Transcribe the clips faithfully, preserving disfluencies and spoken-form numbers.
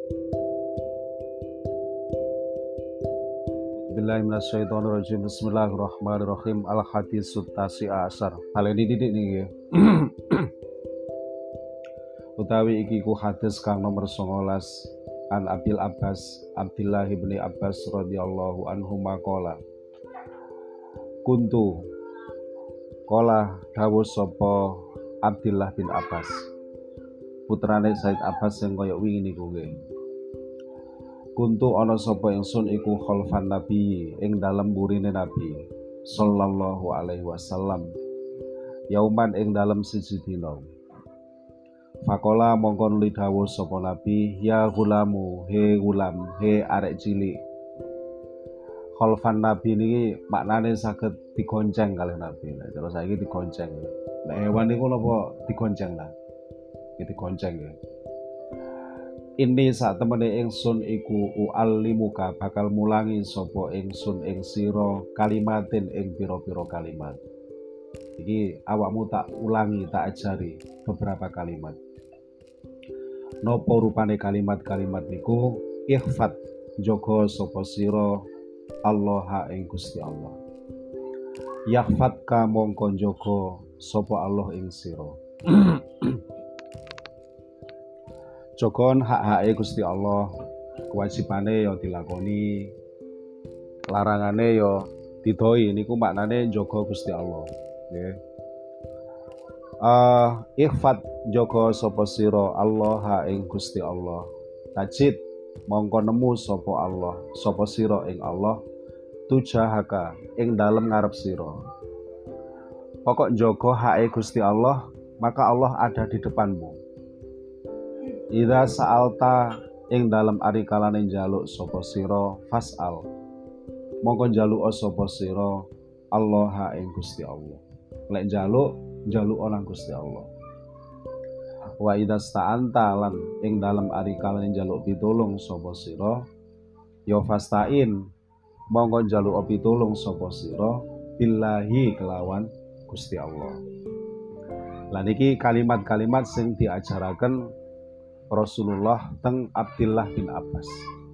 Bismillahirrahmanirrahim. Bismillahirrahmanirrahim. Al-haditsut tasi'a asar. Hal ini didik nih. Utawi iki ku hadis kang nomor songolas an Abil Abbas Abdillah bin Abbas radhiyallahu anhu maqala. Kuntu qala dawuh sapa Abdillah bin Abbas. Putrane Said Abbas sing kaya wingi niku nggih. Kuntu ana sapa ingsun iku khalfan nabi ing dalem burine nabi sallallahu alaihi wasallam yauman ing dalem siji dina. Fakola mongko nuli dawuh sapa nabi, ya gulamu, he gulam, he arek cilik. Khalfan nabi niki maknane saged digonceng kalih nabi. Nah, terus saiki digonceng. Nek hewan niku napa digonceng lah. Iki digonceng ya. Ini saat temene ingsun iku u'allimuka bakal mulangi sapa ingsun ing sira kalimatin ing pira-pira kalimat. Iki awakmu tak ulangi, tak ajari beberapa kalimat. Napa rupane kalimat-kalimat niku? Ihfat, jaga sapa sira Allah ing Gusti Allah. Yahfatka mongko jaga sapa Allah ing sira. Jogon hak-hake Gusti Allah, kewajibane ya dilakoni, larangane ya didoi. Niku maknane jaga Gusti Allah, nggih. Uh, ihfat jaga sapa sira Allah ing Gusti Allah. Tajid mongko nemu sapa Allah, sapa sira ing Allah tujahaka ing dalem ngarep sira. Pokok jaga hake Gusti Allah, maka Allah ada di depanmu. Idza sa'alta ing dalem ari kalane njaluk sapa sira fas'al. Mongko njaluk sapa sira Allah ing Gusti Allah. Lek njaluk, njaluk nang Gusti Allah. Wa idza sta'anta lan ing dalem ari kalane njaluk pitulung sapa sira ya fasta'in. Mongko njaluk pitulung sapa sira billahi kelawan Gusti Allah. Lan iki kalimat-kalimat sing diajaraken Rasulullah teng Abdillah bin Abbas.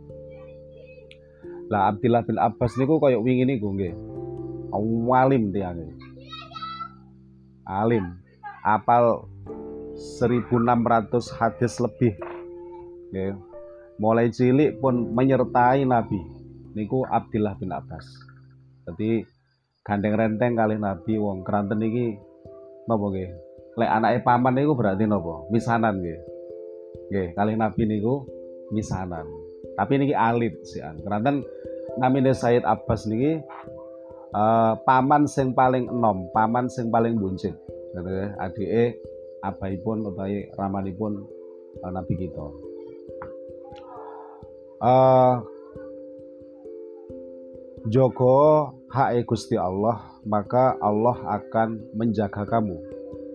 Lah Abdillah bin Abbas niku kaya wingi niku nggih. Alim tiyane. Alim, apal seribu enam ratus hadis lebih. Nggih. Mulai cilik pun menyertai Nabi. Niku Abdillah bin Abbas. Dadi gandeng renteng kalih Nabi wong kranten iki napa nggih? Lek anake paman niku berarti napa? Misanan nggih. Nggih, kalih Nabi niku misanan. Tapi niki alit sian. Keranten namine Said Abbas niki uh, paman sing paling enom, paman sing paling buncit. Nggih, adike abaipun utawi ramanipun uh, Nabi kita. Uh, Jogo hak Gusti Allah, maka Allah akan menjaga kamu.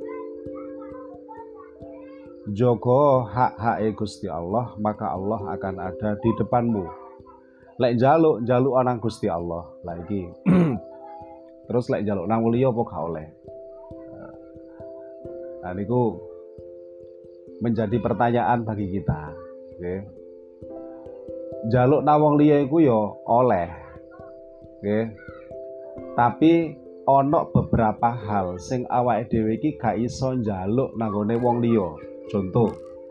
Jogo hak-hak Gusti Allah, maka Allah akan ada di depanmu. Lek njaluk, njaluk nang Gusti Allah. Lah iki. Terus lek njaluk nang liya apa gak oleh? Nah niku menjadi pertanyaan bagi kita, nggih. Njaluk nang wong liya iku ya oleh. Nggih. Tapi ana beberapa hal sing awake dhewe iki gak iso njaluk nang gone wong liya. Contoh,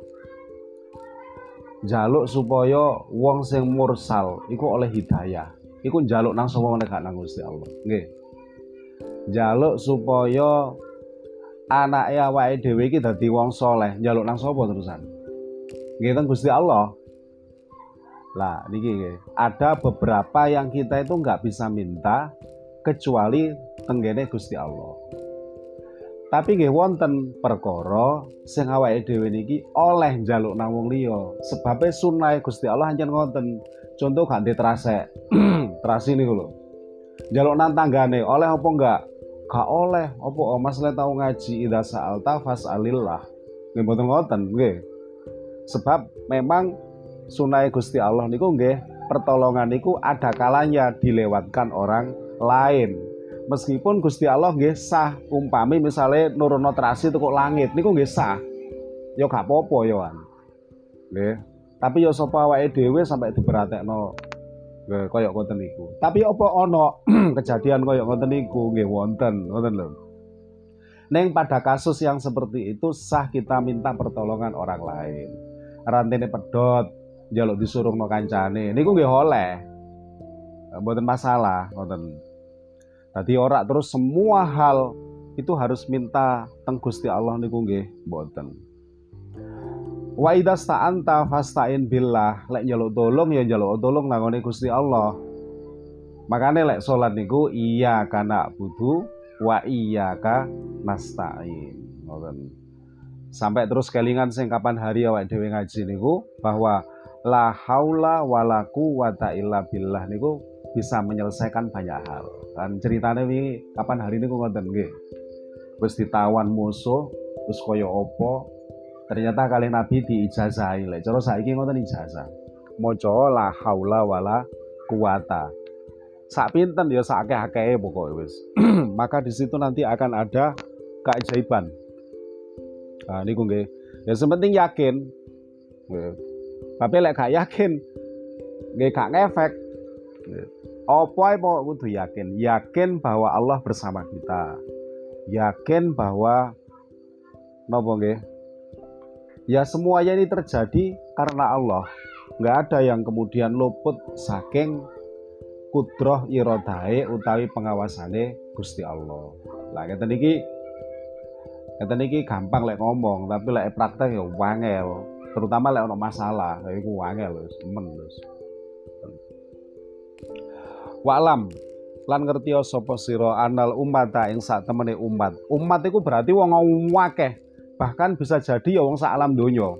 njaluk supaya wong sing mursal iku oleh hidayah. Iku njaluk nang sapa meneh gak nang Gusti Allah. Nggih. Njaluk supaya anake awake dhewe iki dadi wong saleh, njaluk nang sapa terusan? Nggih teng Gusti Allah. Lah niki nggih, ada beberapa yang kita itu nggak bisa minta kecuali tenggene Gusti Allah. Tapi nggih wonten perkara sing awake dhewe niki oleh njaluk nang wong liya. Sebabe sunah Gusti Allah ancen ngoten. Contoh gak ndek trasek. Trasi niku lho. Njaluk nang tanggane oleh apa enggak? Gak oleh. Apa oh, Mas le tau ngaji idza sa'alta fas'alillah. Nggih mboten ngoten nggih. Sebab memang sunah Gusti Allah niku nggih pertolongan niku ada kalanya dilewatkan orang lain. Meskipun Gusti Allah nggih sah, umpami misale nurono trasi teko langit niku nggih sah. Ya gak apa-apa ya kan. Nggih. Tapi ya sapa awake dhewe sampai diperatekno kaya ngoten niku. Tapi apa ana kejadian kaya ngoten niku? Nggih wonten, ngoten lho. Neng pada kasus yang seperti itu sah kita minta pertolongan orang lain. Rantene pedot, njaluk disurungno kancane. Niku nggih oleh. Mboten masalah, ngoten. Dadi ora terus semua hal itu harus minta teng Gusti Allah niku nggih mboten. Wa idza sta'anta fasta'in billah. Lek njaluk tolong ya njaluk tolong nang Gusti Allah. Makane lek salat niku iya kana budu wa iyyaka nasta'in. Ngoten. Sampai terus kelingan sing kapan hari awake dhewe ngaji niku bahwa la haula wala quwata illa billah niku bisa menyelesaikan banyak hal. Kan ceritane wingi kapan hari niku ngoten nggih. Wis ditawan musuh terus kaya apa? Ternyata kali Nabi diijazahi. Lek cara saiki ngoten ijazah. Maca la haula wala quwata. Sak pinten ya sak akeh-akehe pokoke wis. Maka di situ nanti akan ada keajaiban. Nah niku nggih. Ya sepenting yakin. Nggih. Tapi lek gak yakin nggih gak ngefek. Apa ae kudu yakin. Yakin bahwa Allah bersama kita. Yakin bahwa napa nggih? Ya semuanya ini terjadi karena Allah. Nggak ada yang kemudian luput saking kudroh irodahe utawi pengawasane Gusti Allah. Lah ngeten iki ngeten iki gampang lek ngomong, tapi lek praktek ya wangel. Terutama lek ono masalah, lha iku wangel wis, men wis. Wa'lam lan ngerti sapa sira anal ummata ing sak temene umat. Umat iku berarti wong akeh. Bahkan bisa jadi ya wong sak alam donya.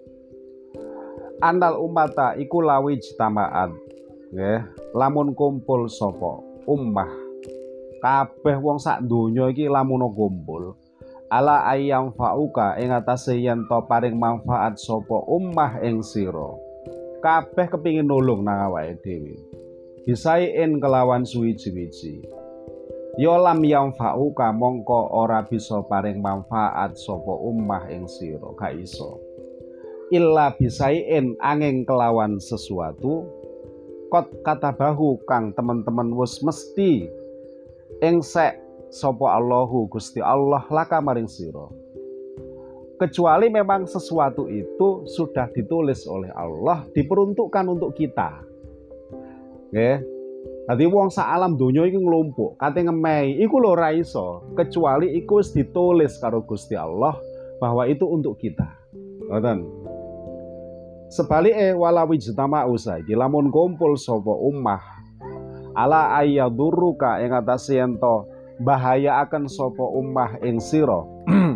Anal ummata iku lawi jitamaat. Nggih, lamun kumpul sapa ummah. Kabeh wong sak donya iki lamun kumpul. Ala ayyam fauka ing atase yen to paring manfaat sapa ummah ing sira. Kabeh kepingin nulung nang awake dhewe. Bisain kelawan suwi-wiji. Ya lam yang fa'uka mongko ora bisa paring manfaat sapa ummah ing sira gak iso. Illa bisain angin kelawan sesuatu kot katabahu kang teman-teman wis mesti ing sek sapa Allahu Gusti Allah laka maring sira. Kecuali memang sesuatu itu sudah ditulis oleh Allah diperuntukkan untuk kita. Nggih. Dadi wong sak alam donya iki nglumpuk, kate ngemehi, iku lho ora iso, kecuali iku wis ditulis karo Gusti Allah bahwa itu untuk kita. Ngoten. Sebalike walawi jtama usaiki lamun kumpul sapa ummah ala ayyadurruka ing atase yen to bahaya akan sapa ummah ing sira.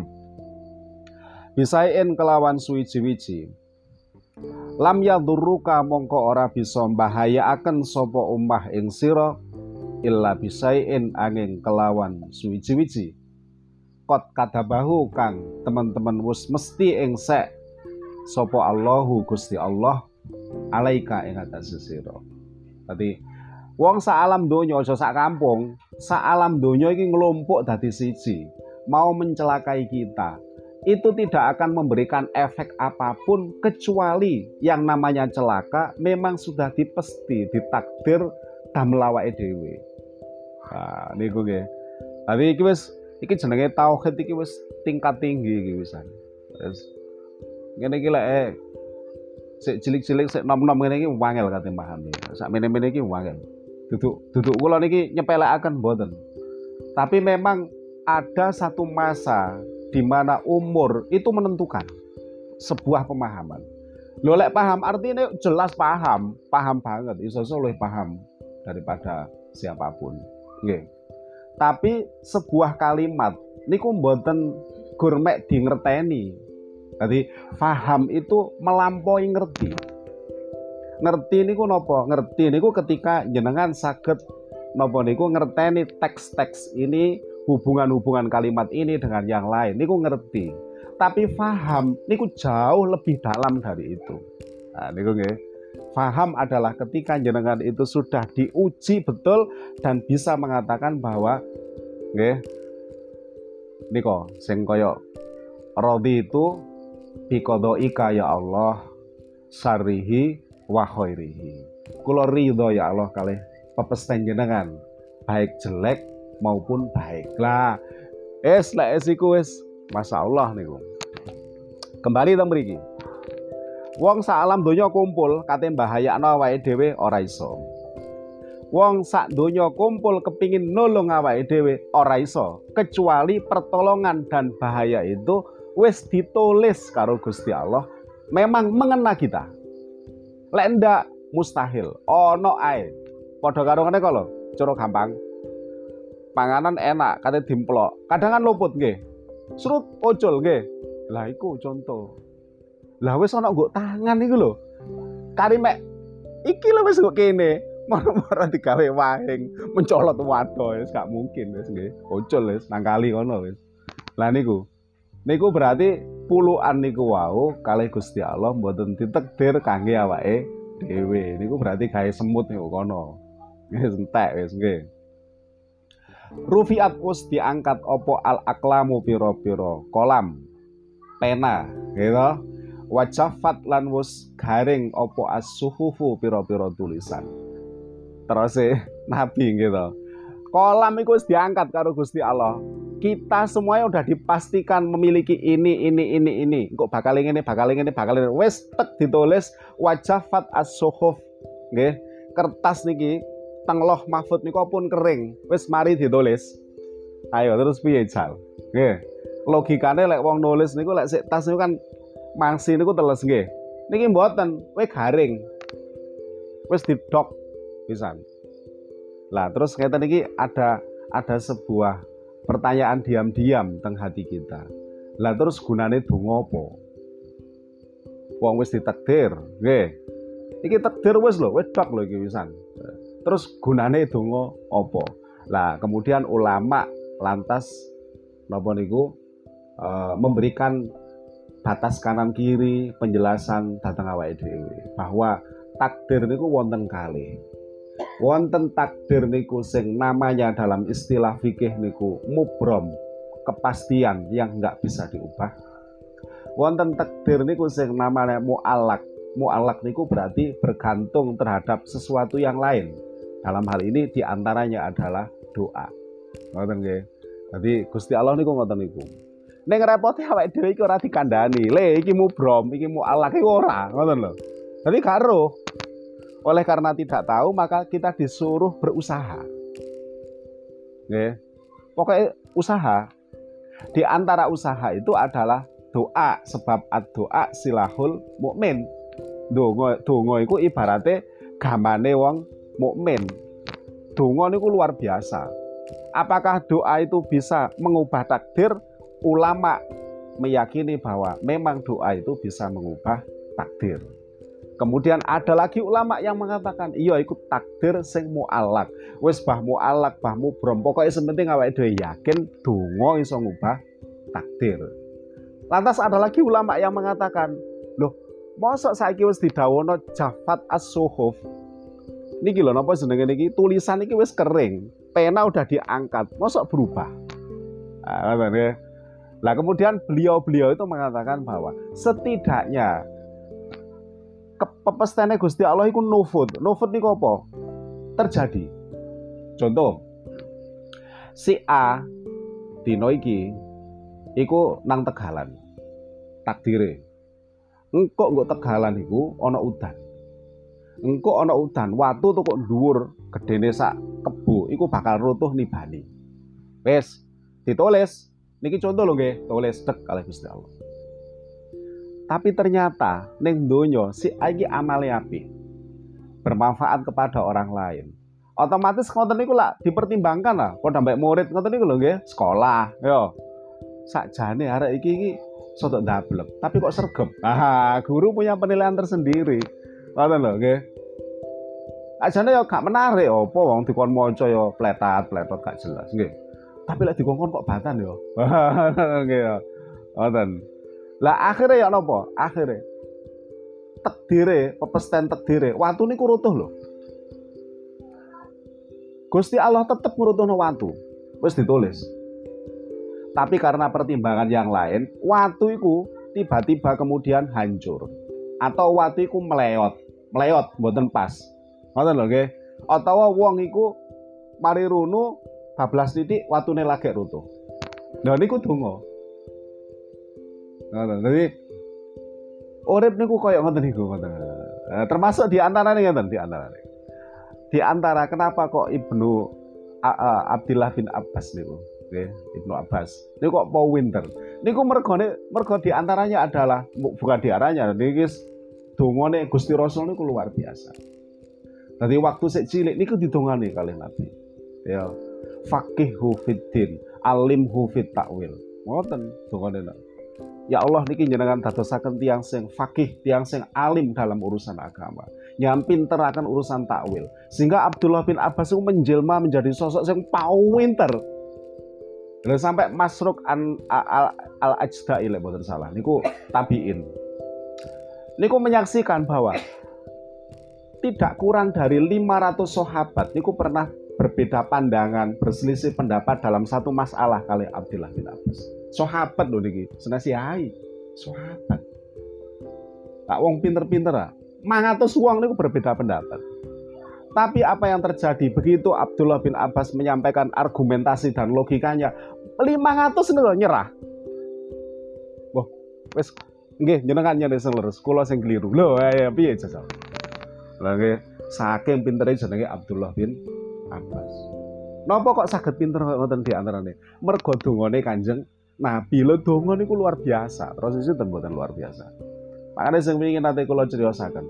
Bisain kelawan suwi-wiji. Lam yadurruka mongko ora bisa mbahayaaken sapa ummah ing sira illa bisain angin kelawan suwiji-wiji. Kot kadabahu kang teman-teman wis mesti ing sek sapa Allahu Gusti Allah alaika ing atase sira. Dadi wong sak alam donya aja sak kampung, sak alam donya iki nglumpuk dadi siji, mau mencelakai kita. Itu tidak akan memberikan efek apapun kecuali yang namanya celaka memang sudah dipesti, ditakdir damel awake dhewe. Nah, niku nggih. Tapi iki wis iki jenenge tauhid iki wis tingkat tinggi iki wisan. Wis ngene iki lek sik cilik-cilik sik nom-nom ngene iki wangel kate pahami. Sak mene-mene iki wangel. Duduk duduk kula niki nyepelekaken mboten. Tapi memang ada satu masa di mana umur itu menentukan sebuah pemahaman. Lho lek paham artinya jelas paham, paham banget, iso-iso luwih paham daripada siapapun. Nggih. Tapi sebuah kalimat niku mboten gurmek di ngerteni. Jadi paham itu melampaui ngerti. Ngerti niku napa? Ngerti niku ketika jenengan saged napa niku ngerteni teks-teks ini, hubungan-hubungan kalimat ini dengan yang lain, niku ngerti. Tapi faham niku jauh lebih dalam dari itu. Nah, niku nggih. Faham adalah ketika jenengan itu sudah diuji betul dan bisa mengatakan bahwa nggih niku sing kaya radhi itu biqadhaika ya Allah, syarrihi wa khairihi. Kula ridho ya Allah kalih pepesten jenengan, baik jelek maupun baik. Lah, es lek es iku wis masyaallah niku. Kembali teng mriki. Wong sak alam donya kumpul kate mbahayakno awake dhewe ora iso. Wong sak donya kumpul kepingin nolong awake dhewe ora iso, kecuali pertolongan dan bahaya itu wis ditulis karo Gusti Allah, memang mengena kita. Lek ndak mustahil, ono ae. Padha karo ngene kok lho, cara gampang. Panganan enak kate dimplok, kadang kan luput nggih. Srut ojol nggih. Lah iku contoh. Lah wis ana nggo tangan iku lho. Kari mek iki lho wis nggo kene. Moro-moro digawe wahing mencolot wado wis gak mungkin wis nggih. Ojol wis nang kali ngono wis. Lah niku. Niku berarti puluhan niku wau kalih Gusti Allah mboten ditakdir kangge awake dhewe. Niku berarti gawe semut niku kono. Wis entek wis nggih. Rufiat us diangkat opo al aklamu piro-piro kolam pena gitu. Wajafat lan wus garing opo as-suhufu piro-piro tulisan. Terus e Nabi gitu. Kolam itu diangkat karo Gusti Allah. Kita semuanya udah dipastikan memiliki ini ini ini ini. Kok bakal ini bakal ini bakal ini. Wes tek ditulis wajafat as-suhuf. Nggih. Kertas niki teng loh mahfud niku pun kering. Wes mari ditulis. Ayo terus piye jal? Nggih. Logikane lek wong nulis niku lek sik tas niku kan mangsi niku teles nggih. Niki mboten, we garing. Wes didok pisan. Lah terus ngeten iki ada ada sebuah pertanyaan diam-diam teng hati kita. Lah terus gunane donga apa? Wong wis ditakdir, nggih. Iki takdir wis lho, wis dok lho iki pisan. Terus gunane donga apa? Lah kemudian ulama lantas napa niku e, memberikan batas kanan kiri penjelasan dhateng awake dhewe bahwa takdir niku wonten kalih. Wonten takdir niku sing namanya dalam istilah fikih niku mubrom, kepastian yang enggak bisa diubah. Wonten takdir niku sing namanya mu'allaq. Mu'allaq niku berarti bergantung terhadap sesuatu yang lain. Dalam hal ini diantaranya adalah doa. Ngoten nggih. Jadi Gusti Allah niku ngoten niku. Ning repote awake dhewe iki ora dikandani. Le iki mubrom, iki mu'allaq iki ora, ngoten lho. Jadi karo. Oleh karena tidak tahu maka kita disuruh berusaha. Nggih. Pokoknya usaha. Di antara usaha itu adalah doa, sebab ad-doa silahul mukmin. Donga donga iku ibarate gamane wong mukmin. Donga niku luar biasa. Apakah doa itu bisa mengubah takdir? Ulama meyakini bahwa memang doa itu bisa mengubah takdir. Kemudian ada lagi ulama yang mengatakan iya ikut takdir sing mu'allaq. Wis bah mu'allaq, bah mubrom. Pokoknya sementing awake dhewe yakin donga iso ngubah takdir. Lantas ada lagi ulama yang mengatakan, loh, mosok saiki wis didhawuhna jafat as-suhuf. Niki lho napa jenenge niki tulisan iki wis kering, pena udah diangkat, mosok berubah. Nah, ya. Lah kemudian beliau-beliau itu mengatakan bahwa setidaknya kepepestane Gusti Allah iku nufud. Nufud niku apa? Terjadi. Contoh, si A dino iki iku nang Tegalan. Takdire. Engko nggo Tegalan iku ana udan. Engko ana udan, watu tuh kok dhuwur, gedene sak kebo iku bakal rutuh nibani. Wes, ditulis. Niki contoh lho nggih, tulis tek kalih Gusti Allah. Tapi ternyata ning donya si iki amale apik. Bermanfaat kepada orang lain. Otomatis ngoten niku lah dipertimbangkan lah padha mbek murid ngoten niku lho nggih, sekolah. Yo. Sakjane arek iki iki sotok ndablek, tapi kok sregep. Ah, guru punya penilaian tersendiri. Ngoten lho nggih. Ajane yo gak menarik apa wong dikon maca yo pletat-pletot gak jelas nggih. Tapi lek dikongkon kok batan yo. Nggih yo. Ngoten. Lah akhirnya ya napa? Akhirnya takdire, pepesten takdire, watu niku rutuh lho. Gusti Allah tetep ngrutuhno watu. Wis ditulis. Tapi karena pertimbangan yang lain, watu iku tiba-tiba kemudian hancur. atau watu iku meleot. Meleot mboten pas. Ngoten lho nggih. Atawa wong iku mari runu bablas titik watune lagi runtuh. Lha niku donga. Ngoten. Dadi urip niku koyo ngoten niku ngoten. Nah, termasuk di antarane ngoten, di antarane. Di antara kenapa kok Ibnu uh, Abdillah bin Abbas niku, nggih, Ibnu Abbas. Niku kok po winter. Niku mergone mergo di antaranya adalah bukan di antaranya, niki dongane Gusti Rasul niku luar biasa. Dadi waktu sik cilik niku didongani kalih Nabi. Ya, faqihhu fiddin, alimhu fit ta'wil. Ngoten dongane. Ya Allah niki jenengan dadosaken tiyang sing faqih, tiyang sing alim dalam urusan agama. Yang pinter akan urusan takwil. Sehingga Abdullah bin Abbas itu menjelma menjadi sosok yang pinter. Dan sampai Masruq al-Ajda'i lek mboten salah niku tabiin. Niku menyaksikan bahwa tidak kurang dari lima ratus sahabat niku pernah berbeda pandangan, berselisih pendapat dalam satu masalah kali Abdullah bin Abbas. Sahabat lho niki, senasi hai. Sahabat. Tak wong pinter-pinter ah. Mangatus wong niku berbeda pendapat. Tapi apa yang terjadi begitu Abdullah bin Abbas menyampaikan argumentasi dan logikanya, lima ratus niku nyerah. Wah, wis nggih jenengan nyene sing leres, kula sing keliru. Lho, ya piye jajal. Lah nggih, saking pintere jenenge Abdullah bin Abbas. Napa kok saged pinter ngoten di antarane? Mergo dongane Kanjeng Nabi. Lho donga niku luar biasa. Terus itu mboten luar biasa. Makanya sing ingin nanti kula criosaken.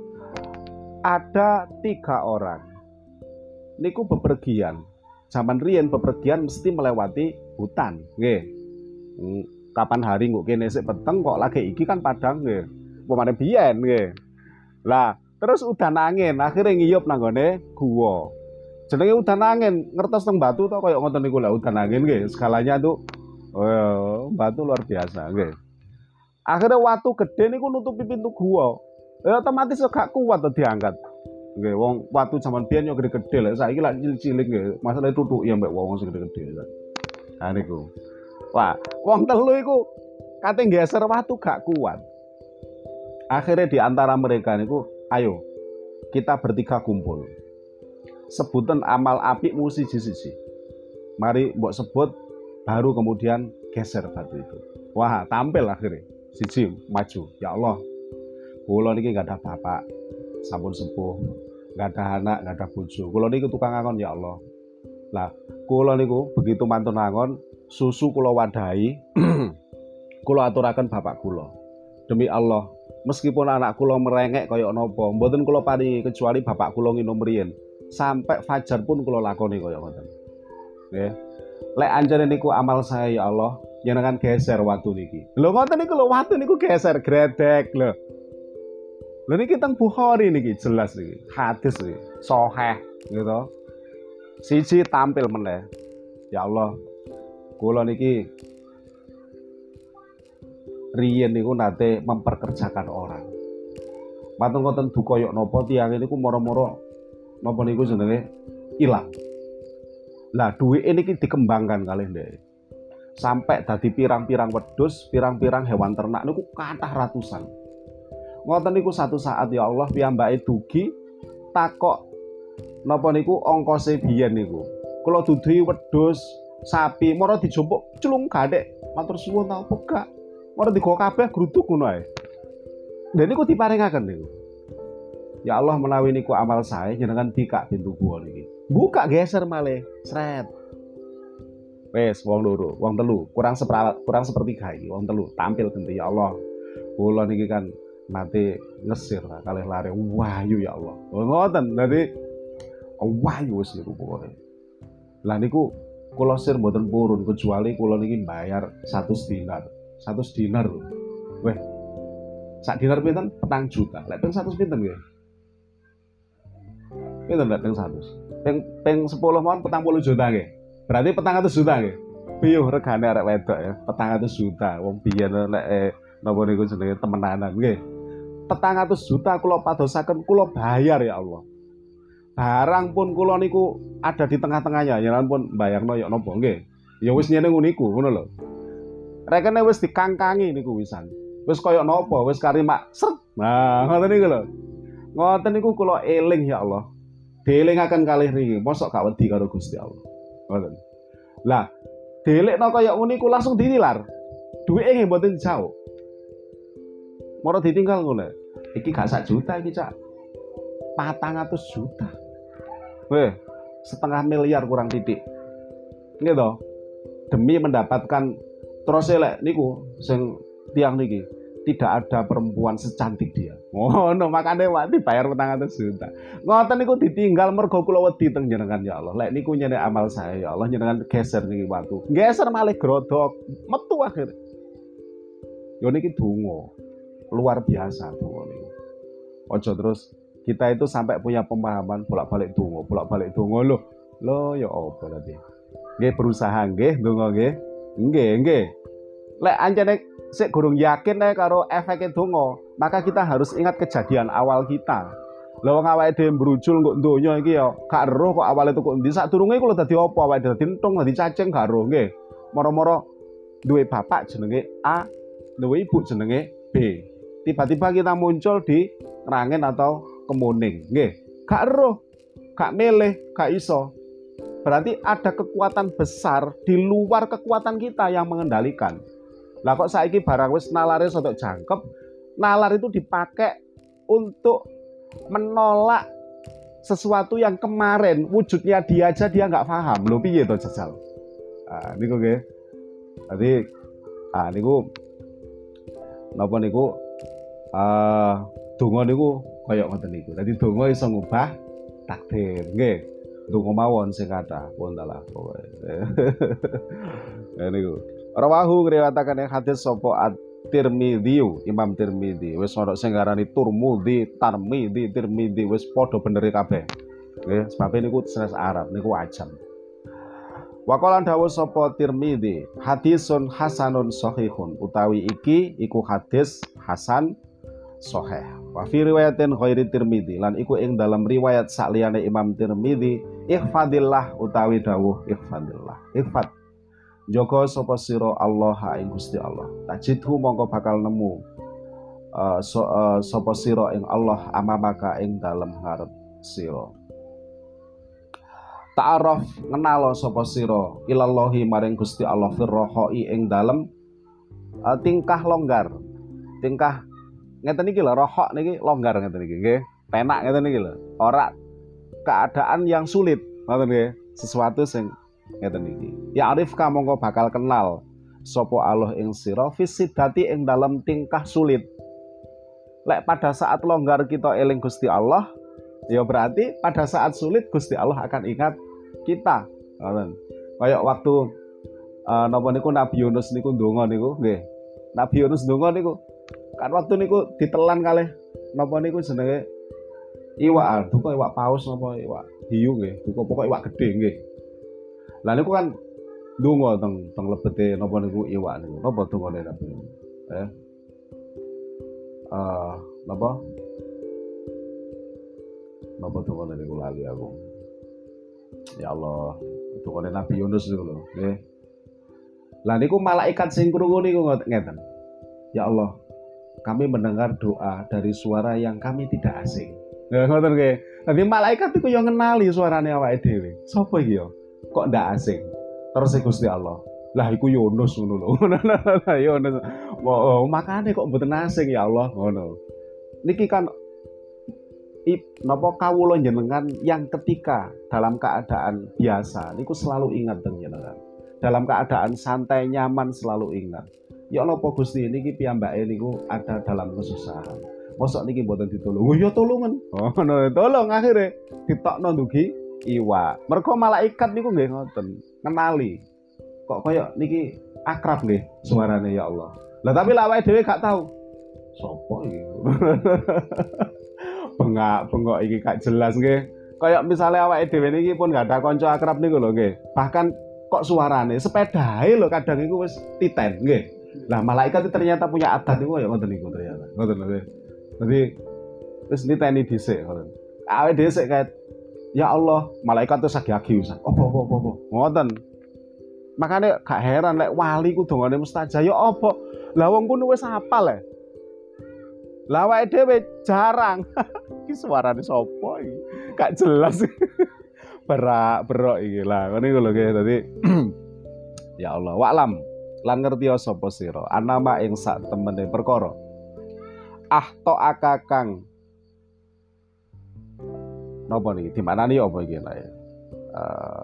Ada tiga orang. Niku bepergian. Zaman riyen bepergian mesti melewati hutan, nggih. Kapan hari kok kene sik peteng kok lagi iki kan padang nggih. Pemane biyen nggih. Lah, terus udan angin akhirnya ngiyup nang gone guwa. Jenenge udan angin, ngertos teng batu to koyo ngoten niku lah udan angin nggih. Skalanya tuh oh, batu luar biasa nggih. Akhirnya watu gede niku nutupi pintu gua. Ya otomatis gak kuat to diangkat. Nggih, wong watu zaman biyen yo gede-gede lek saiki lak cilik-cilik nggih. Masalahe tutuki mbek wong sing gede-gede. Ha niku. Wah, wong telu iku kate nggeser watu gak kuat. Akhirnya di antara mereka niku, ayo kita bertiga kumpul. Sebutan amal apikmu siji-siji. Mari mbok sebut baru kemudian geser batu itu. Wah, tampil akhirnya. Siji maju, ya Allah, kula niki gak ada bapak, sampun sepuh, gak ada anak, gak ada bojo. Kula niki tukang angon ya Allah. Lah, kula niku begitu mantun angon, susu kula wadahi, kula aturaken bapak kula. Demi Allah, meskipun anak kula merengek kaya napa, mboten kula paringi kecuali bapak kula nginum riyen. Sampai fajar pun kula lakoni kaya ngoten. Nggih. Lek anjene niku amal saya ya Allah, jenengan geser watu niki. Lho ngoten niku lho watu niku geser gredek lho. Lho niki teng Bukhari niki jelas niki. Hadis iki sahih gitu. Siji tampil meneh. Ya Allah, kula niki riyen niku nate memperkerjakan orang. Matur ngoten duka yok napa tiyang niku moro-moro napa niku jenenge ilang. Lah duwike niki dikembangkan kalih ndek. Sampai dadi pirang-pirang wedhus, pirang-pirang hewan ternak niku kathah ratusan. Ngoten niku satu saat ya Allah piyambake dugi takok napa niku ongkose biyen niku. Kula duduhi wedhus, sapi, mara dijompok culung gadek. Matur suwun ta opo gak? Mara digo kabeh gruduk ngono ae. Lha niku diparingaken niku. Ya Allah menawi niku amal saya jenengan bikak pintu gua niki. Buka geser malih, sret. Wes wong loro, wong telu, kurang seperempat, kurang sepertiga iki, wong telu tampil genti ya Allah. Kula niki kan nate ngesir kalih lare wahyu ya Allah. Ngoten, dadi wahyu wis niku pokoke. Lah niku kula sir mboten purun kecuali kula niki bayar satu dinar. satu dinar lho. Weh. Sak dinar pinten? Petang juta. Lek ping seratus pinten nggih? Pinten lek ping seratus? Ping ping sepuluh mon petang puluh juta nggih. Berarti petang atus juta nggih. Piye regane arek wedok ya? petang atus juta. Wong biyen lek eh, napa niku jenenge temenanan nggih. petang atus juta kula padosaken kula bayar ya Allah. Barang pun kula niku ada di tengah-tengahnya, ya pun bayarno ya napa nggih. Ya wis nyene niku ngono lho. Rekene wis dikangkangi niku wisan. Wis kaya napa? Wis karimak sret. Nah, ngoten niku lho. Ngoten niku kula eling ya Allah. Dielingaken kalih niki, mosok gak wedi karo Gusti Allah. Ngoten. Lah, dielekno kaya ngene iku langsung ditilar. Duwike nggih mboten dijauh. Moro ditinggal ngono. Iki gak sak juta iki, Cak. patang atus juta. Weh, setengah miliar kurang titik. Nggih to? Demi mendapatkan terus elek niku sing tiang niki. Tidak ada perempuan secantik dia. Oh, no, makanya Pak dibayar petang atus juta. Ngoten niku ditinggal mergo kula wedi teng jenengan ya Allah. Lek niku nyene amal saya ya Allah jenengan geser niki watu. Geser malih grodok, metu akhir. Yo niki donga. Luar biasa donga niku. Ojo terus kita itu sampai punya pemahaman bolak-balik donga, bolak-balik donga lho. Lho ya apa berarti? Nggih berusaha nggih donga nggih. Nggih, nggih. Lek anjene sik gurung yakin nek karo efeke donga, maka kita harus ingat kejadian awal kita. Lha wong awake dhewe brujul kok donya iki ya gak eruh kok awale tuku endi. Sadurunge iku lho dadi apa awake dhewe dadi entung, dadi cacing gak eruh nggih. Moro-moro duwe bapak jenenge A, duwe ibu jenenge B. Tiba-tiba kita muncul di Nrangen atau Kemuning, nggih. Gak eruh, gak milih, gak iso. Berarti ada kekuatan besar di luar kekuatan kita yang mengendalikan. Lah kok saiki barang wis nalare sotok jangkep, nalar itu dipakai untuk menolak sesuatu yang kemarin wujudnya dia aja dia nggak paham. Lho piye to jajal? Ah niku nggih. Dadi ah niku napa niku ah donga niku kaya ngoten niku. Dadi donga iso ngubah takdir, nggih. Donga mawon sing kathah pun dalah pokoke. Ya niku. Rawahu ngriwayataken ing hadis sapa At-Tirmidzi, Imam Tirmidzi. Wis ana sing ngarani Turmudi, Tarmidzi, Tirmidzi wis padha bener kabeh. Nggih, sebab niku sanes Arab niku ajam. Wa qala dawuh sapa Tirmidzi, hadisun hasanun shahihun, utawi iki iku hadis hasan sahih. Wa fi riwayatin ghairi Tirmidzi, lan iku ing dalam riwayat sakliyane Imam Tirmidzi, ihfadillah utawi dawuh ihfadillah. Ihfad Joko sapa sira Allah ing Gusti Allah. Tajidhu mongko bakal nemu uh, so, uh, sapa sira ing Allah amamaka ing dalem ngarep sira. Ta'aruf ngenalo sapa sira ilallahi maring Gusti Allah firrohoi ing dalem uh, tingkah longgar. Tingkah ngeten iki lho, rohok niki longgar ngeten iki nggih. Penak ngeten iki lho. Ora keadaan yang sulit, ngoten nggih. Sesuatu sing ngeten iki. Ya arif ka mongko bakal kenal sapa Allah ing sira fisidati ing dalam tingkah sulit. Lek pada saat longgar kita eling Gusti Allah, ya berarti pada saat sulit Gusti Allah akan ingat kita. Ngoten. Kayak waktu uh, napa niku Nabi Yunus niku ndonga niku nggih. Nabi Yunus ndonga niku kan waktu niku ditelan kalih napa niku jenenge iwak, duka iwak paus napa iwak hiu nggih, duka pokoke iwak gedhe nggih. Lah niku kan ndonga teng teng lebete napa niku iwak niku. Napa dongane Nabi? Eh. Uh, napa? Napa dongane niku lali aku. Ya Allah, dongane Nabi Yunus niku lho, nggih. Lah niku malaikat sing krungu niku ngeten. Ya Allah, kami mendengar doa dari suara yang kami tidak asing. Nah, ngoten nggih. Dadi malaikat iku yo ngenali suarane awake dhewe. Sopo iki yo? Kok ndak asing? Terus Gusti Allah. Lah iku Yunus ngono lho. Yunus. Oh, makane kok mboten asing ya Allah ngono. Niki kan ip, napa kawula jenengan yang ketika dalam keadaan biasa niku selalu ingat teng jenengan. Dalam keadaan santai nyaman selalu ingat. Ya napa Gusti niki piyambake niku ada dalam kesusahan. Mosok niki mboten ditolong. Oh ya tolongan. Oh no, tolong akhirnya ditokno ndugi iwak. Mergo malaikat niku nggih ngoten, kenali. Kok kaya niki akrab nggih suarane ya Allah. Lah tapi lak awake dhewe gak tahu. Sopo iki? Bengak-bengok iki gak jelas nggih. Kayak misalnya awake dhewe niki pun gak ada kanca akrab niku lho nggih. Bahkan kok suarane sepedahe lho kadang iku wis titen nggih. Lah malaikat itu ternyata punya adat niku kaya ngoten niku ternyata. Ngoten nggih. Dadi wis niteni dhisik ngoten. Awake dhewe sik kae ya Allah, malaikat itu sagi-agi Ustaz. Apa apa apa apa. Ngoten. Makane gak heran lek wali ku dongane mustajab ya apa. Lah wong kuwi wis hafal le. Lah awake dhewe jarang. Iki suarane sapa iki? Gak jelas. Berak berok iki lah. Ngene iku lho nggih. Dadi ya Allah, wa'lam lan ngerti sapa sira anama ing sak temene perkara. Ah to akakang napa niki dimaknani apa iki lah ya? Uh,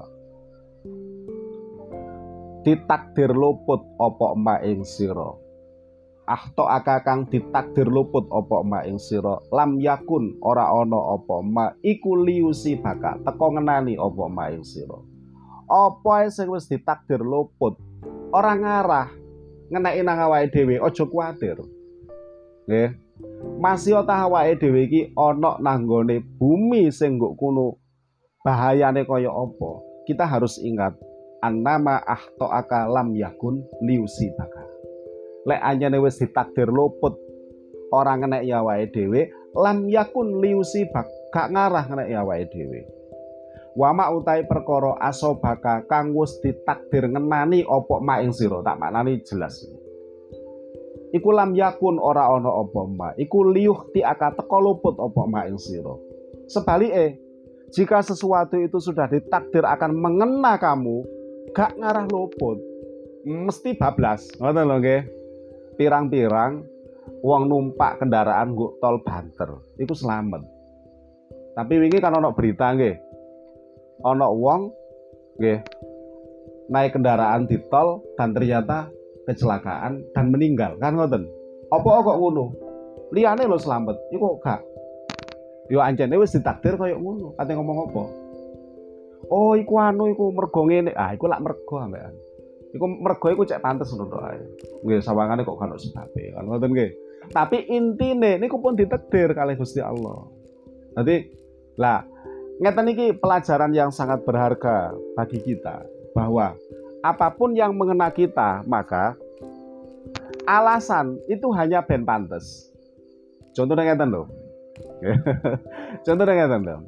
ditakdir luput apa ma ing sira. Ah to akakang ditakdir luput apa ma ing sira. Lam yakun ora ana apa ma iku liusi baka teko ngenani apa ma ing sira. Apa sing wis ditakdir luput ora ngarah ngeneki nang awake dhewe, aja kuwatir. Nggih. Masih ta awake dhewe iki ana nang nggone bumi sing nggo kuno bahayane kaya apa. Kita harus ingat annama ahtoaka lam yakun liusibaka. Lek anjene wis ditakdir luput ora ngeneki awake dhewe, lam yakun liusibak gak ngarah ngeneki awake dhewe. Wama utai perkara asobaka kang wis ditakdir ngenani apa mak ing sira, tak maknani jelas. Iku lam yakun ora ana apa ma iku liuh ti aka teka luput apa ma ing sira. Sebalike, jika sesuatu itu sudah ditakdir akan mengena kamu, gak ngarah luput, mesti bablas. Ngoten lho nggih. Pirang-pirang wong numpak kendaraan nggo tol banter, iku selamat. Tapi wingi kan ana berita nggih. Ana wong nggih naik kendaraan di tol dan ternyata kecelakaan dan meninggal, kan ngoten. Apa kok ngono? Liyane lho selamat, iku gak. Yo anjene wis ditakdir kaya ngono. Kate ngomong apa? Oh, iku anu iku mergo ngene. Ah, iku lak mergo ambekan. Iku mergo iku cek pantes ngono tok ae. Nggih, sawangane kok kan ono sebabe, kan ngoten nggih. Tapi intine niku pun ditakdir kalih Gusti Allah. Dadi lah ngeten iki pelajaran yang sangat berharga bagi kita bahwa apapun yang mengena kita, maka alasan itu hanya ben pantes. Contohnya ngeten lho. Contohnya ngeten lho.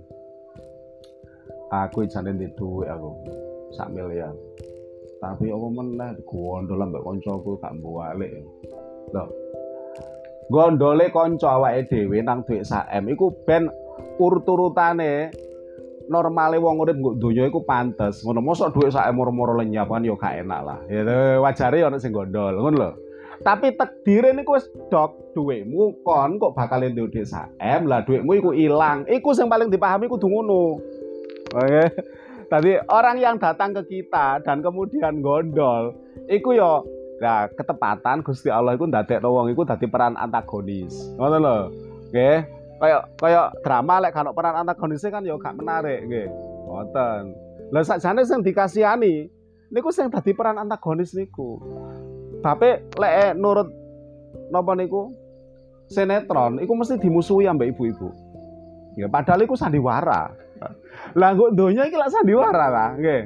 Aku jane ndek dhuwit aku sak miliar. Tapi apa meneh gondol ambek kancaku gak mbalik. Lho. Gondole kanca awake dhewe nang dhuwit sak M iku ben urut-urutane normale wong urip nggo donya iku pantes. Ngono mosok dhuwit sak moro-moro lenyap kan ya gak enak lah. Ya wajare ana sing gondol, ngono lho. Tapi takdire niku wis dok, dhuwitmu kon kok bakal entuk dhuwit sak M, lah dhuwitmu iku ilang. Iku sing paling dipahami kudu ngono. Oke. Tadi orang yang datang ke kita dan kemudian gondol, iku ya nah ketepatan Gusti Allah iku ndadekno wong iku dadi peran antagonis. Ngono lho. Nggih. Kayak kayak drama lek kan peran antagonisnya kan ya gak menarik nggih. Ngoten. Lah sakjane sing dikasihani niku sing dadi peran antagonis niku. Tapi lek nurut napa niku sinetron iku mesti dimusuhi ambek ibu-ibu. Ya padahal iku sandiwara. Lah kok donya iki lak sandiwara lah nggih.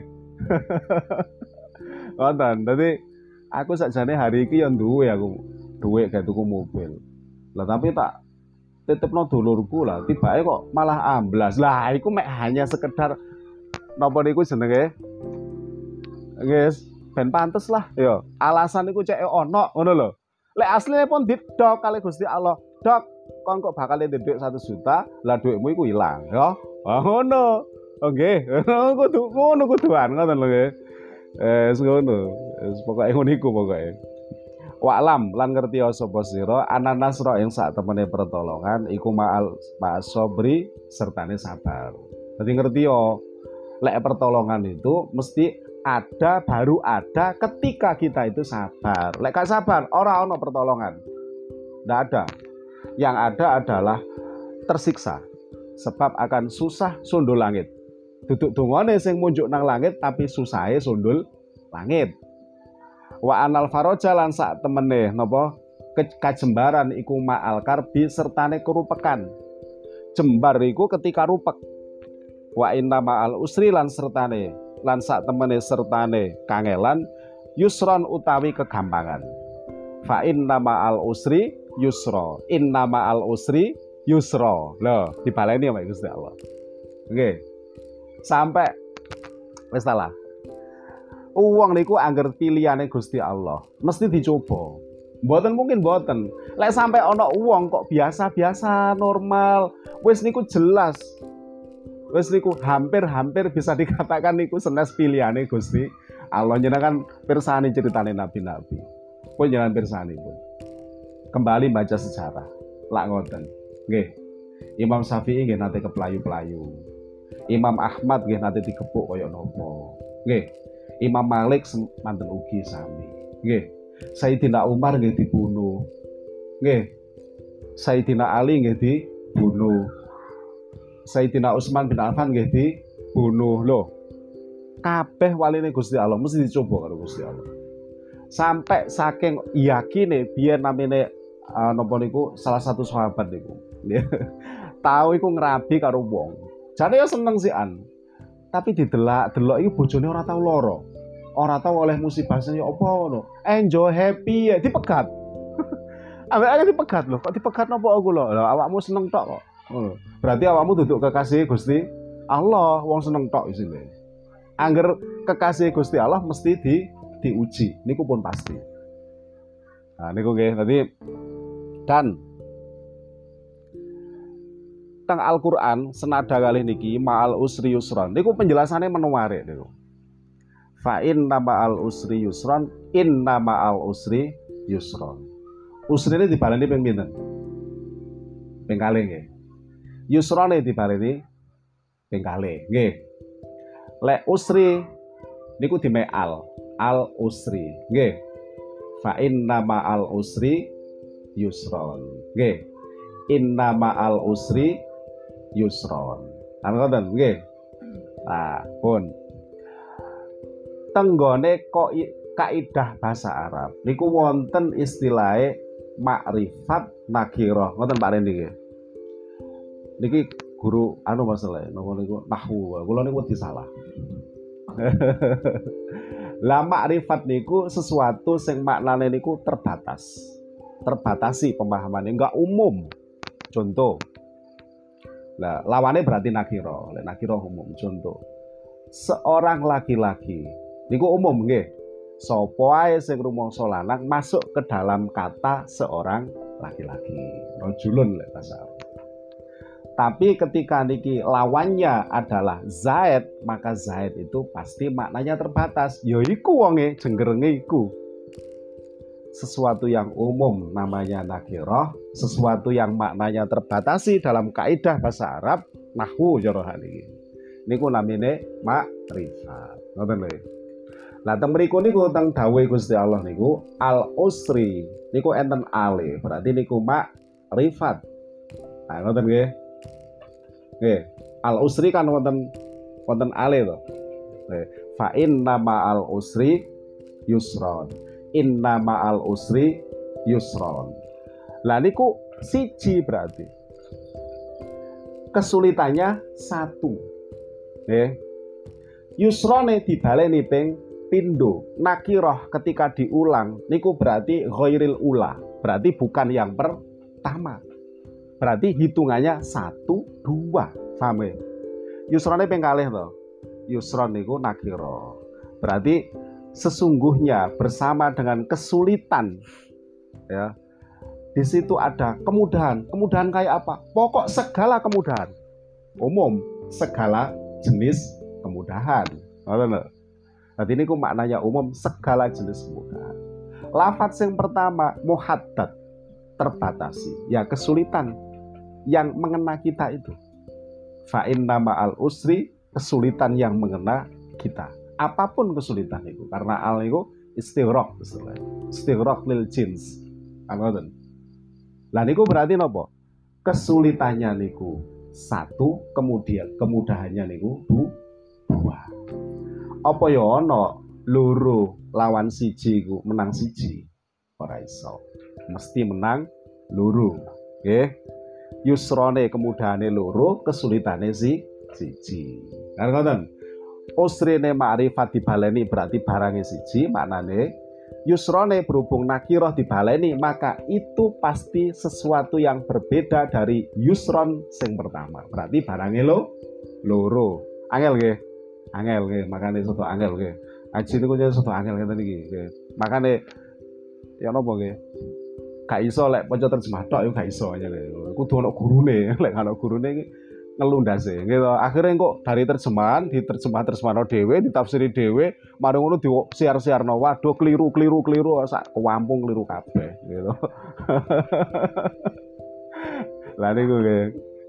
Ngoten. Dadi aku sakjane hari iki ya duwe aku duwe gak tuku mobil. Lah tapi tak titipno dulurku lah, tibake kok malah amblas. Lah iku mek hanya sekedar napa niku jenenge? Guys, ben pantes lah ya. Alasan iku cek ono ngono lho. Lek asline pun didok kali Gusti Allah. Dok, kon kok bakal entuk dhuwit satu juta, lah dhuwitmu iku ilang ya. Ah ngono. Oke, ngono kudu ngono kuduan ngoten lho nggih. Eh ngono. Wis pokoke ngono iku pokoke. Wa'lam lan ngerti sapa sira ana nasra ing sak temene pertolongan iku ma'al ma'asobri sertane sabar. Dadi ngerti yo lek pertolongan itu mesti ada baru ada ketika kita itu sabar. Lek gak sabar ora ono pertolongan. Ndak ada. Yang ada adalah tersiksa sebab akan susah sundul langit. Duduk dungane sing munjuk nang langit tapi susahe sundul langit. Wa anal faraja lan sak temene napa kajembaran iku ma'al karbi sertane kerupekan. Jembar iku ketika rupek. Wa inna ma'al usri lan sertane lan sak temene sertane kangelan yusron utawi kegampangan. Fa inna ma'al usri yusra. Inna ma'al usri yusra. Lho, dibaleni ya Gusti Allah. Oke. Sampai wis salah. Uang niku angger pilihane Gusti Allah, mesti dicoba. Mboten mungkin mboten. Lek sampai ana wong kok biasa-biasa normal, wis niku jelas. Wis niku hampir-hampir bisa dikatakan niku senes pilihane Gusti Allah. Jenengan pirsani ceritane nabi-nabi. Pun jangan pirsani pun. Kembali baca sejarah. Lak ngoten. Nggih. Imam Syafi'i nggih nate keplayu-playu. Imam Ahmad nggih nate dikepuk kaya napa. Nggih. Imam Malik manten ugi sami. Nggih. Sayyidina Umar nggih dibunuh. Nggih. Sayyidina Ali nggih dibunuh. Sayyidina Utsman bin Affan nggih dibunuh. Lho. Kabeh waline Gusti Allah mesti dicoba karo Gusti Allah. Sampai saking yakine biyen namine uh, napa niku salah satu sahabat niku. Tahu iku ngerabi karo wong. Jane ya seneng sian. Tapi didelak-delok iki bojone ora tau lara. Ora tau oleh musibah ya apa ngono. Enjoy happy ya dipegat. Ambek dipegat lho, kok dipegat napa aku lho? Lah awakmu seneng tok kok. Ngono. Berarti awakmu duduk kekasih Gusti Allah, wong seneng tok isine. Angger kekasih Gusti Allah mesti di diuji. Niku pun pasti. Nah niku nggih. Dadi dan teng Al-Qur'an senada kali niki ma'al usri yusron. Niku penjelasannya menarik niku. Fa inna ma'al usri yusron, inna ma'al usri yusron. Usri ini dibaleni ping pinten? Ping kalih nggih. Yusrone dibaleni ping kalih nggih. Lek usri niku dimeal al usri nggih. Fa inna ma'al usri yusron nggih. Inna ma'al usri yusron. Ana ngoten nggih. Nah, pun tenggone kok kaidah bahasa Arab niku wonten istilahe makrifat nakirah. Ngoten Pak Rendi nggih. Niki guru anu masalah napa niku nahwu. Kula niku disalah. Lah makrifat niku sesuatu sing maknane niku terbatas. Terbatasi pemahamannya, enggak umum. Contoh. Lah lawannya berarti nakira. Lek nakira umum. Contoh. Seorang laki-laki niku umum nggih. Sapa ae sing rumangsa lanang masuk ke dalam kata seorang laki-laki. Rajulun lek bahasa Arab. Tapi ketika niki lawannya adalah Zaid, maka Zaid itu pasti maknanya terbatas. Ya iku wonge jenggerenge iku. Sesuatu yang umum namanya nakirah, sesuatu yang maknanya terbatasi dalam kaidah bahasa Arab nahwu jarahan iki. Niku namine makrifat. Ngoten lho. Lah teng mriku niku teng dawuh Gusti Allah niku al usri niku enten ale, berarti niku makrifat. Nah ngoten nggih. Nggih, al usri kan wonten wonten ale to. Nggih, fa inna ma'al usri yusron. Inna ma'al usri yusron. Lah niku siji berarti. Kesulitannya satu. Nggih. Yusrone dibaleni ping pindho. Nakirah ketika diulang niku berarti ghairil ula. Berarti bukan yang pertama. Berarti hitungannya satu, dua. Paham ya? Yusrone ping kalih to. Yusron niku nakira. Berarti sesungguhnya bersama dengan kesulitan ya. Di situ ada kemudahan. Kemudahan kayak apa? Pokok segala kemudahan. Umum, segala jenis kemudahan. Ngoten lho. Dadi niku maknanya umum segala jenis kemudahan. Lafaz yang pertama muhaddad, terbatasi. Ya kesulitan yang mengena kita itu. Fa inna ma'al usri, kesulitan yang mengena kita. Apapun kesulitan itu, karena al itu istighraq istilahnya. Istighraq lil jins. Ngoten. Lah niku berarti napa? Kesulitannya niku satu, kemudian kemudahannya niku dua. Apa ya ana loro lawan siji iku menang siji? Ora iso. Mesti menang loro. Nggih. Yusrone kemudahane loro, kesulitane si siji. Kan ngoten. Usrine ma'rifat dibaleni berarti barangnya siji, maknane yusrone berhubung nakirah dibaleni, maka itu pasti sesuatu yang berbeda dari yusron sing pertama. Berarti barangnya lo loro. Angel nggih. Angel nggih, makane soto angel nggih. Aji niku soto angel ngeten iki nggih. Makane ya napa nggih? Gak iso lek maca terjemah tok yo gak iso aja lho. Kudu ono gurune, lek ono gurune iki ngelundase gitu. Akhirnya kok dari terjemahan diterjemah terjemahno dhewe, ditafsiri dhewe, mari ngono disiar-siarno. Waduh keliru keliru keliru sak kampung keliru kabeh gitu. Lah niku nggih.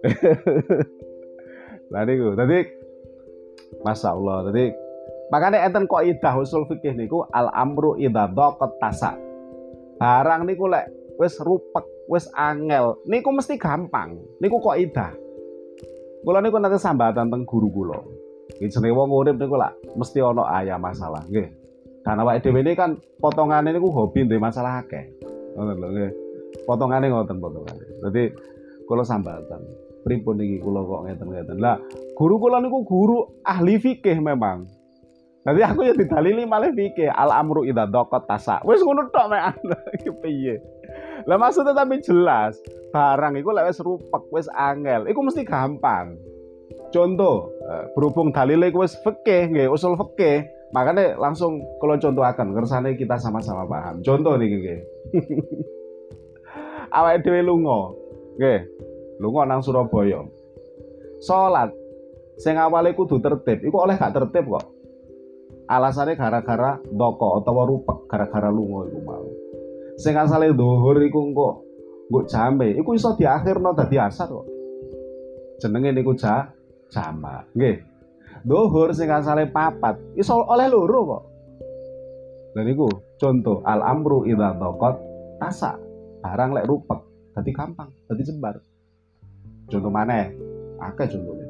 Lah niku. Dadi masyaallah. Dadi makane enten kaidah usul fikih niku al amru idza daqat tasa. Barang niku lek wis rupek, wis angel, niku mesti gampang. Niku kaidah. Kula niku nate sambatan teng guru kula. Iki jenenge wong urip niku lak mesti ana aya masalah, nggih. Karena awake dhewe ini kan potongane niku hobi duwe masalah akeh. Ngoten lho nggih. Potongane ngoten potongane. Dadi kula sambatan. Pripun iki kula kok ngeten-ngeten. Lah, guru kula niku guru ahli fikih memang. Nanti aku ya didalili malah fikih al amru idza daqat tasa. Wis ngono tok mek iki piye. Lah maksudnya tapi jelas, barang iku lek wis rupek, wis angel, iku mesti gampang. Contoh, berhubung dalile iku wis fikih nggih, usul fikih, makanya langsung kalau contohaken kersane kita sama-sama paham. Contoh niki nggih. Awake dhewe lunga, nggih. Lunga nang Surabaya. Salat sing awale kudu tertib, iku oleh gak tertib kok. Alasannya gara-gara doko utawa rupek, gara-gara lunga iku mau. Sing asale dhuwur iku engko nggo jame, iku iso diakhirno dadi asar kok. Jenenge niku ja jamak. Nggih. Dhuwur sing asale papat, iso oleh loro kok. Lha niku contoh al amru idza daqat tasa. Barang lek rupek dadi gampang, dadi jembar. Contoh maneh, akeh contone.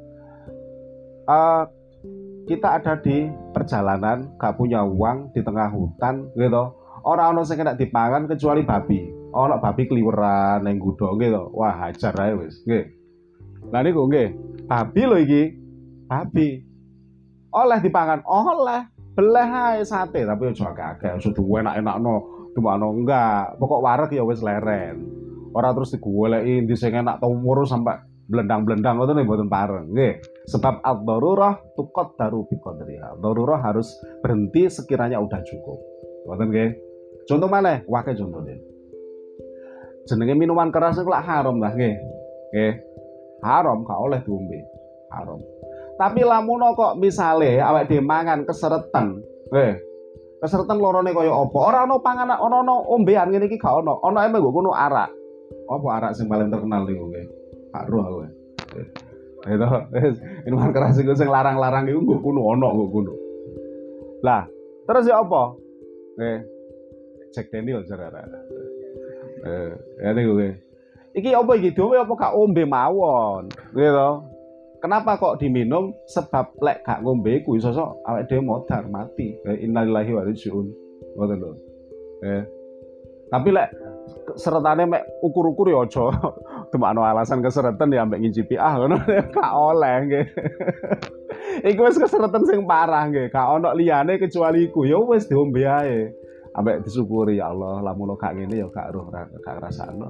Uh, kita ada di perjalanan, gak punya uang di tengah hutan gitu. Orang ono sing kena dipangan kecuali babi. Ono babi kliweran ning gudho gitu. Wah, hajar ae wis, nggih. Lah niku nggih, babi lho iki. Babi. Oleh dipangan, oleh. Beleh ae sate, tapi aja akeh-akeh, aja enak-enakno, dimakno enggak. Pokok wareg ya wis leren. Ora terus digoleki endi sing enak to ngurus sampai blendang-blendang ngoten mboten pareng, nggih. Sebab ad-darurah tuqaddaru bi qadriha. Darurah harus berhenti sekiranya udah cukup. Ngoten nggih. Contoh mana? Wakai contohnya. Jenenge minuman keras itu lah haram lah, nggih. Nggih. Haram gak oleh diombe. Haram. Tapi lamun kok misale awake dhewe mangan keseretan, nggih. Keseretan lorone kaya apa? Ora ana panganan, ana ana ombean ngene iki gak ono. Ana emang nggo kono arak. Apa arak sing paling terkenal niku nggih? Gak roh aku. Itu minuman keras iku sing larang-larang iku nggo kono ono nggo kono. Lah, terus ya apa? Nggih. Jack Daniel jarara. Eh, ya niku nggih. Iki apa iki dhewe apa gak ombe mawon? Gitu. Kenapa kok diminum? Sebab lek gak ngombe ku iso awake dhewe modar mati. Innalillahi wa inna ilaihi raji'un. Ngoten lho. Eh. Tapi lek seretane mek ukur-ukur ya aja. Demakno alasan keseretan ya ambek ngicipi ah ngono gak oleh nggih. Iku wis keseretan sing parah nggih. Gak ono liyane kecuali iku. Ya wis diombe ae. Ambek disyukuri ya Allah, lamun gak ngene ya gak roh gak rasakno.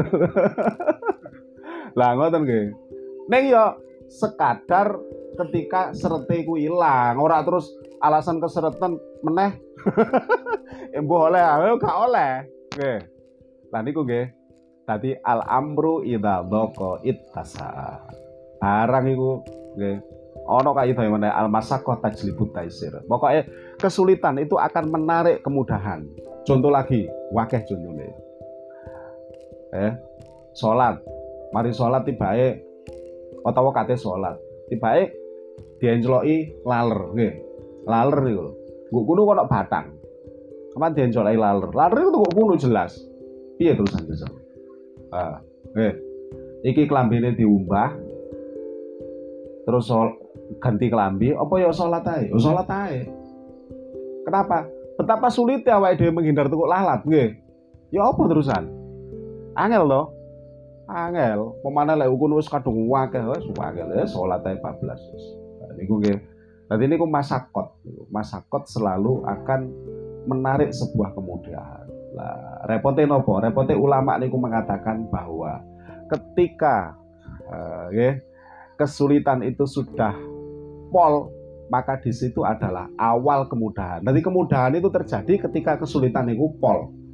Lah ngoten nggih. Ning ya sekadar ketika serete ku ilang, ora terus alasan keseretan meneh. Embuh oleh, gak oleh. Nggih. Lah niku nggih. Tadi al amru idza dhaqa ittasa. Barang iku nggih. Ono kaidah meneh al masyaqqah tajlibut taisir. Pokoknya kesulitan itu akan menarik kemudahan. Contoh lagi, wakeh contohnya. Eh, salat. Mari salat tibake utawa kate salat. Tibake diencloki laler nggih. Laler niku. Nggo kuno kono batang. Kapan diencloki laler. Laler itu kok kuno jelas. Piye terusan bisa? Ah, nggih. Iki klambine diumbah. Terus sol, ganti kelambi, apa ya salat ae? Ya salat ae. Kenapa? Betapa sulitnya awake dhewe menghindar tukuk lalat, nggih. Ya apa terusan? Angel to. Angel, pemane lek ukun wis kadung akeh wis angel ya salat ae bablas wis. Niku nggih. Dadi niku masakot. Masakot selalu akan menarik sebuah kemudahan. Lah, repote nopo? Repote ulama niku mengatakan bahwa ketika uh, nggih kesulitan itu sudah pol, maka di situ adalah awal kemudahan. Nanti kemudahan itu terjadi ketika kesulitan itu pol.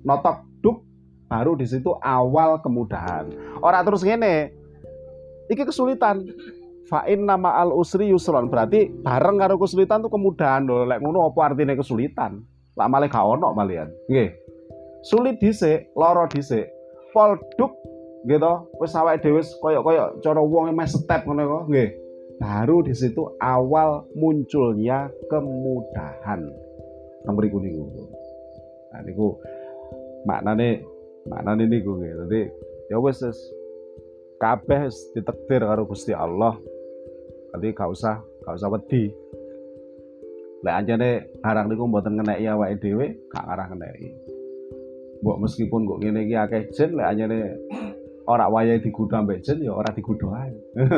notok duk, baru di situ awal kemudahan. Ora terus ngene. Iki kesulitan. Fa inna ma'al usri yusron, berarti bareng karo kesulitan tuh kemudahan lho. Lek ngono apa artine kesulitan? Lah malah gak ono malian. Nggih. Sulit dhisik, lara dhisik. Pol duk gitu. Wis awake dhewe koyo-koyo cara wong meh step ngono kok, nggih. Baru di situ awal munculnya kemudahan. Nang mriku niku. Nah niku maknane maknane niku nggih. Dadi ya wis kabeh ditakdir karo Gusti Allah. Dadi gak usah gak usah wedi. Lek anjane barang niku mboten ngeneki awake dhewe, gak ngarah ngeneki. Mbok meskipun kok ngene iki akeh jin, lek anjane ora wayahe digodha mbek jin ya ora digodha ae.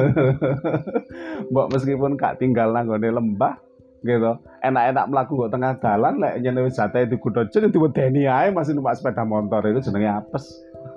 Mbok meskipun gak tinggal nang gone lembah gitu. Enak-enak mlaku kok tengah dalan lek nyene wis jatahe digodha jin diwedeni ae masih numpak sepeda motor itu jenenge apes.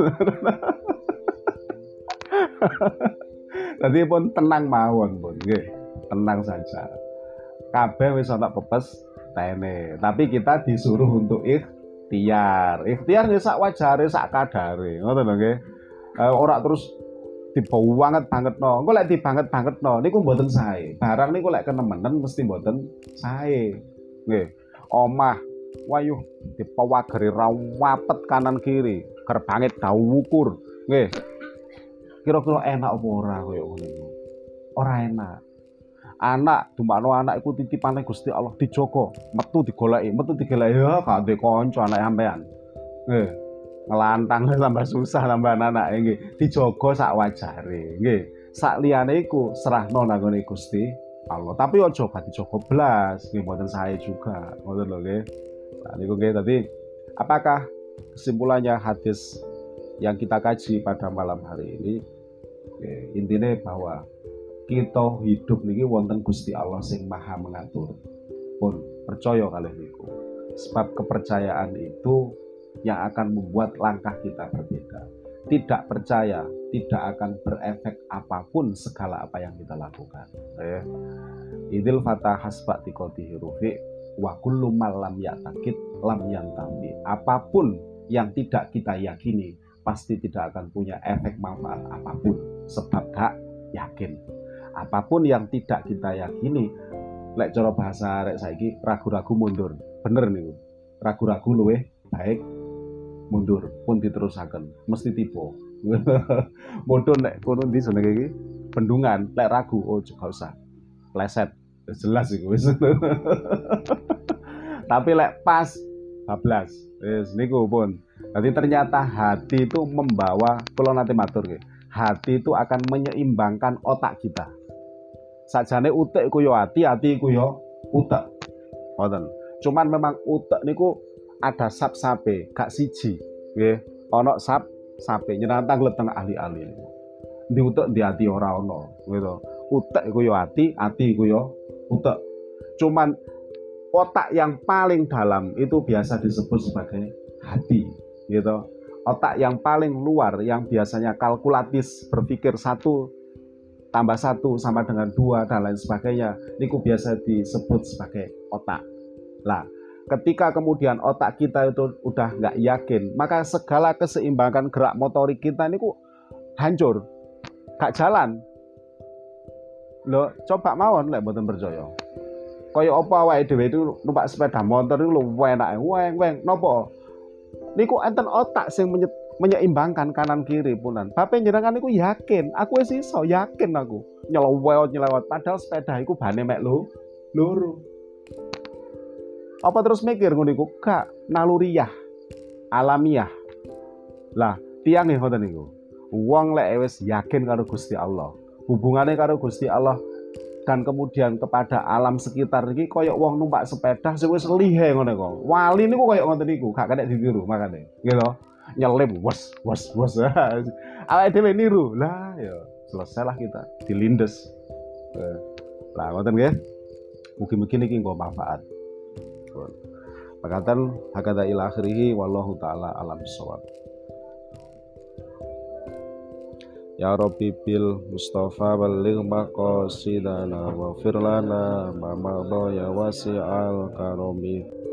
Dadi pun tenang mawon pun nggih. Tenang saja. Kabeh wis ana pepes tene, tapi kita disuruh untuk ikhtiar. Ikhtiar ya sak wajare, sak kadare. Ngoten lho nggih. Uh, ora terus dibawa banget banget no. Engko lek dibanget banget no, niku mboten sae. Barang niku lek kenemenen mesti mboten sae. Nggih. Omah wayuh dipawageri rawapet kanan kiri, gerbange dawu wukur. Nggih. Kira-kira enak apa ora koyo ngono iku? Ora enak. Anak dumakno anak iku titipane Gusti Allah dijogo, metu digoleki, metu digoleki ya gak ndek kanca anak sampean. Nggih. Ngelantang tambah susah tambah anak nggih dijogo sak wajare nggih sak liyane iku serahno nang ngene Gusti Allah tapi aja gak dijogo blas nggih mboten sae juga ngoten lho nggih. Nah niku nggih tadi apakah kesimpulannya hadis yang kita kaji pada malam hari ini nggih, intine bahwa kita hidup niki wonten Gusti Allah sing Maha mengatur pun percaya kalih niku sebab kepercayaan itu yang akan membuat langkah kita berbeda. Tidak percaya tidak akan berefek apapun segala apa yang kita lakukan. Ya. Idil fatah hasba tiqatihi rufi wa kullu malam ya'taqid lam yantami. Apapun yang tidak kita yakini pasti tidak akan punya efek manfaat apapun sebab gak yakin. Apapun yang tidak kita yakini, lek cara bahasa arek saiki ragu-ragu mundur. Bener niku. Ragu-ragu luwih baik mundur pun diterusaken mesti tiba. Modho nek kono ndi jenenge iki bendungan lek ragu oh gak usah pleset jelas iku wis. Tapi lek pas bablas wis niku pun. Jadi ternyata hati itu membawa kula nate matur nggih. Hati itu akan menyeimbangkan otak kita. Sajane utek iku yo hati, hati iku yo utek. Ngoten. Cuman memang utek niku ada sap-sape, gak siji, nggih. Ana sap-sape nyerantang leteng ahli-ahli niku. Ndi utek ndi ati ora ana, gitu. Utek iku yo ati, ati iku yo utek. Cuman otak yang paling dalam itu biasa disebut sebagai hati, gitu. Otak yang paling luar yang biasanya kalkulatis, berpikir satu tambah satu sama dengan dua dan lain sebagainya, niku biasa disebut sebagai otak. Lah, ketika kemudian otak kita itu udah nggak yakin, maka segala keseimbangan gerak motorik kita ini kok hancur, gak jalan. Loh, coba mawon lek mboten percaya. Kaya apa awake dhewe itu numpak sepeda motor itu lho enake, weng weng napa? Niku enten otak sing menye menyeimbangkan kanan kiri punan. Bape njenengan niku yakin, aku wis iso yakin aku nyelewet nyelewet padahal sepeda iku bane mek lho loro. Apa terus mikir ngono iku? Gak, naluriyah, alamiah. Lah, tiyang nggih ngoten niku. Wong lek wis yakin karo Gusti Allah, hubungane karo Gusti Allah dan kemudian kepada alam sekitar iki koyo wong numpak sepeda sing wis lihe ngono kok. Wali niku koyo ngoten niku, gak kena ditiru makane. Gitu. Nyelip wes wes wes. Awake dhewe niru. Lah ya, selesailah kita dilindes. Lah ngoten nggih. Mugi-mugi niki nggo manfaat. Pakatan hakada ila akhirih wallahu taala alam bisawab. Ya Rabbi bil Mustafa balligh maqasidana wa firlana ma madha ya wasi'al karami.